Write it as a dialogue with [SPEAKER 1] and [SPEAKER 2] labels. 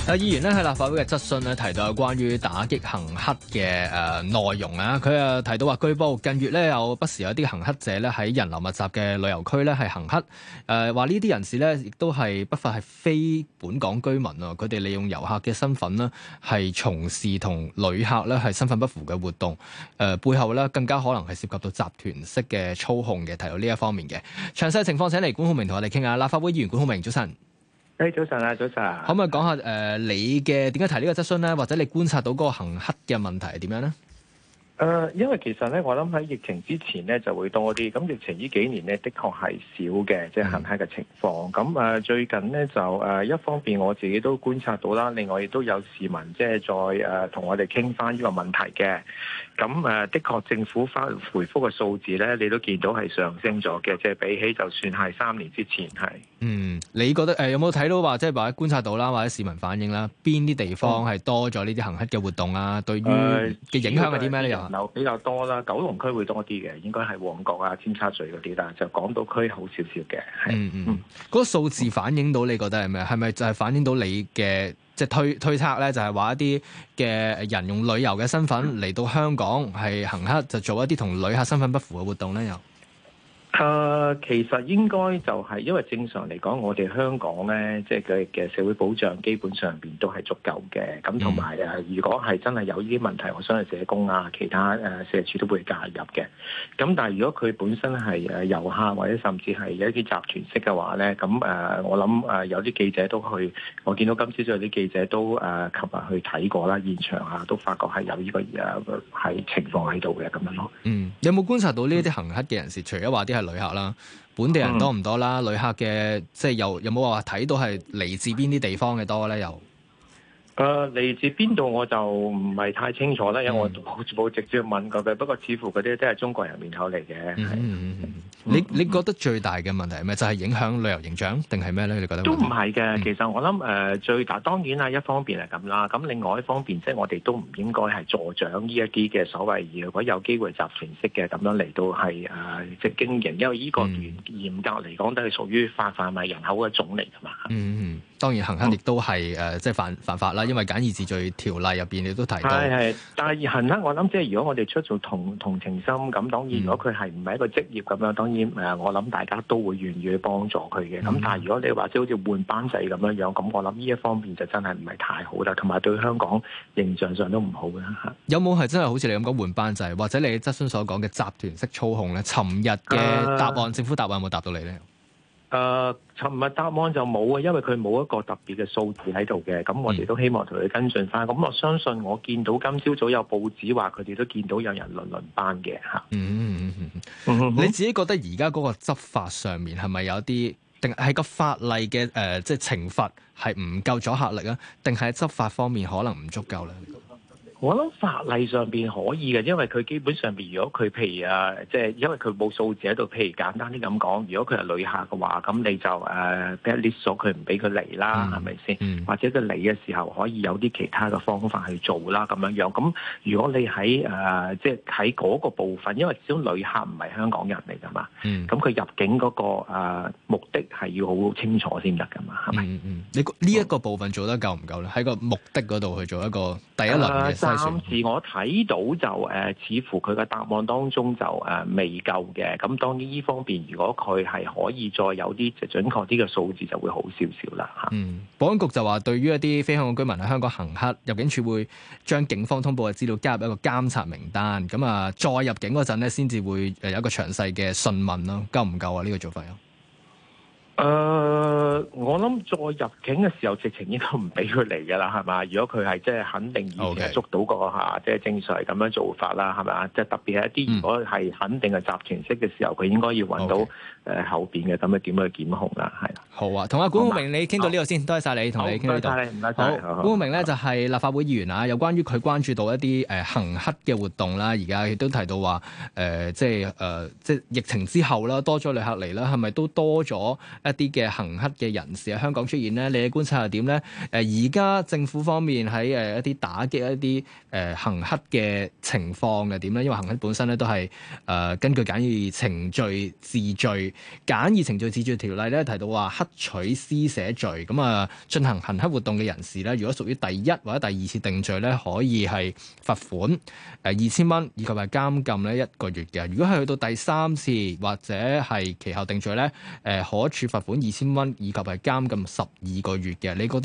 [SPEAKER 1] 議員咧喺立法會嘅質詢咧提到有關於打擊行乞嘅內容啊，佢提到話據報近月咧有不時有啲行乞者咧喺人流密集嘅旅遊區咧係行乞，話呢啲人士咧亦都係不乏係非本港居民啊，佢哋利用遊客嘅身份呢係從事同旅客咧係身份不符嘅活動，背後咧更加可能係涉及到集團式嘅操控嘅，提到呢一方面嘅詳細情況，請嚟管浩鳴同我哋傾下。立法會議員管浩鳴，早晨。
[SPEAKER 2] 早晨啊，早晨。
[SPEAKER 1] 可唔可以講下你嘅點解提呢個質詢咧？或者你觀察到嗰個行乞嘅問題係點樣咧？
[SPEAKER 2] 因為其實咧，我諗喺疫情之前咧就會多啲。咁疫情呢幾年咧，的確係少嘅，即係行乞嘅情況。咁最近咧就一方面我自己都觀察到啦，另外亦都有市民即係再同我哋傾翻呢個問題嘅。咁的確政府回覆嘅數字咧，你都見到係上升咗嘅，即係比起就算係3年之前係。
[SPEAKER 1] 你覺得有冇睇到話即係或者觀察到啦，或者市民反映啦，邊啲地方係多咗呢啲行乞嘅活動啊？對於嘅影響係啲咩咧？又
[SPEAKER 2] 人流比較多啦，九龍區會多啲嘅，應該係旺角啊、尖沙咀嗰啲啦，就港島區好少少嘅。
[SPEAKER 1] 嗰個數字反映到你覺得係咩？係咪就係反映到你嘅即係推測咧？就係話一啲嘅人用旅遊嘅身份嚟到香港係行乞，就做一啲同旅客身份不符嘅活動咧？又
[SPEAKER 2] 其實應該就係因為正常嚟講，我哋香港咧，即係佢嘅社會保障基本上邊都係足夠嘅。咁同埋如果係真係有呢啲問題，我相信社工啊、其他社署都會介入嘅。咁但係如果佢本身係遊客或者甚至係有一啲集團式嘅話咧，咁我諗有啲記者都去，我見到今朝早有啲記者都琴日去睇過啦，現場啊都發覺係有呢個係情況喺度嘅咁樣咯。
[SPEAKER 1] 有冇觀察到呢啲行乞嘅人士？除咗話啲係旅客啦，本地人多唔多啦？旅客嘅即係有冇話睇到係嚟自邊啲地方嘅多咧？又
[SPEAKER 2] 嚟自邊度我就唔係太清楚啦，因為我冇直接問過佢。不過似乎嗰啲都係中國人面口嚟嘅。
[SPEAKER 1] 你覺得最大嘅問題係咩？就係影響旅遊形象定係咩咧？你覺得
[SPEAKER 2] 都唔係嘅。其實我諗最大當然啦，一方面係咁啦。咁另外一方面，即係我哋都唔應該係助長呢一啲嘅所謂如果有機會集團式嘅咁樣嚟到係即係經營，因為呢個嚴格嚟講都係屬於販賣人口嘅種嚟㗎嘛。
[SPEAKER 1] 當然行乞亦都係即係犯法啦，因為簡易治罪條例入邊你都提到。係，
[SPEAKER 2] 但係行乞我諗即係如果我哋出做同情心咁，當然如果佢係唔係一個職業咁樣，當然我諗大家都會願意去幫助佢嘅。咁但係如果你話即係好似換班制咁樣樣，咁我諗呢一方面就真係唔係太好啦，同埋對香港形象上都唔好嘅嚇。
[SPEAKER 1] 有冇係真係好似你咁講換班制，或者你質詢所講嘅集團式操控咧？尋日嘅答案，政府答案有冇答到你咧？
[SPEAKER 2] 尋日答案就冇啊，因為佢冇一個特別嘅數字喺度嘅，咁我哋都希望同佢跟進翻。咁我相信我見到今朝早有報紙話佢哋都見到有人輪班嘅嚇。你自己覺得而家嗰個執法上面係咪有啲，定係個法例嘅即係懲罰係唔夠阻嚇力啊？定係執法方面可能唔足夠咧？我諗法例上邊可以嘅，因為佢基本上邊，如果佢譬如即係因為佢冇數字喺度，譬如簡單啲咁講，如果佢係旅客嘅話，咁你就list 咗佢唔俾佢嚟啦，係咪先？或者佢嚟嘅時候可以有啲其他嘅方法去做啦，咁樣樣。咁如果你喺即係喺嗰個部分，因為始終旅客唔係香港人嚟㗎嘛，咁佢入境嗰個目的係要好清楚先得㗎嘛，係咪？
[SPEAKER 1] 你呢一個部分做得夠唔夠咧？喺個目的嗰度去做一個第一輪嘅。
[SPEAKER 2] 暫時我睇到就似乎佢嘅答案當中就未夠嘅。咁當然呢方面，如果佢係可以再有啲準確啲嘅數字，就會好少少啦嚇。
[SPEAKER 1] 保安局就話，對於一啲非香港居民喺香港行乞，入境處會將警方通報嘅資料加入一個監察名單。咁再入境嗰陣咧，先至會有一個詳細嘅訊問咯。夠唔夠啊？呢個做法有？
[SPEAKER 2] 我諗再入境嘅時候，直情應該唔俾佢嚟㗎啦，係嘛？如果佢係即係肯定以前捉到個即係正常係咁樣做法啦，係咪啊？即係特別係一啲如果係肯定係集團式嘅時候，佢應該要揾到後邊嘅咁樣點去檢控啦，係。
[SPEAKER 1] 好啊，同阿管浩鳴你傾到呢度先，多謝晒你，同你傾呢度。
[SPEAKER 2] 唔該晒。
[SPEAKER 1] 好，管浩鳴咧就係立法會議員啊，有關於佢關注到一啲行乞嘅活動啦，而家亦都提到話即係疫情之後啦，多咗旅客嚟啦，係咪都多咗一啲嘅行乞嘅人士喺香港出現咧？你嘅觀察係點咧？而家政府方面喺一啲打擊一啲行乞嘅情況係點咧？因為行乞本身咧都係根據簡易程序治罪條例咧提到話乞取施捨罪，咁進行行乞活動嘅人士咧，如果屬於第一或者第二次定罪咧，可以係罰款2,000蚊，以及係監禁咧1個月嘅。如果係去到第三次或者係其後定罪咧，可處罰款2,000蚊，以及係監禁12個月嘅。你覺得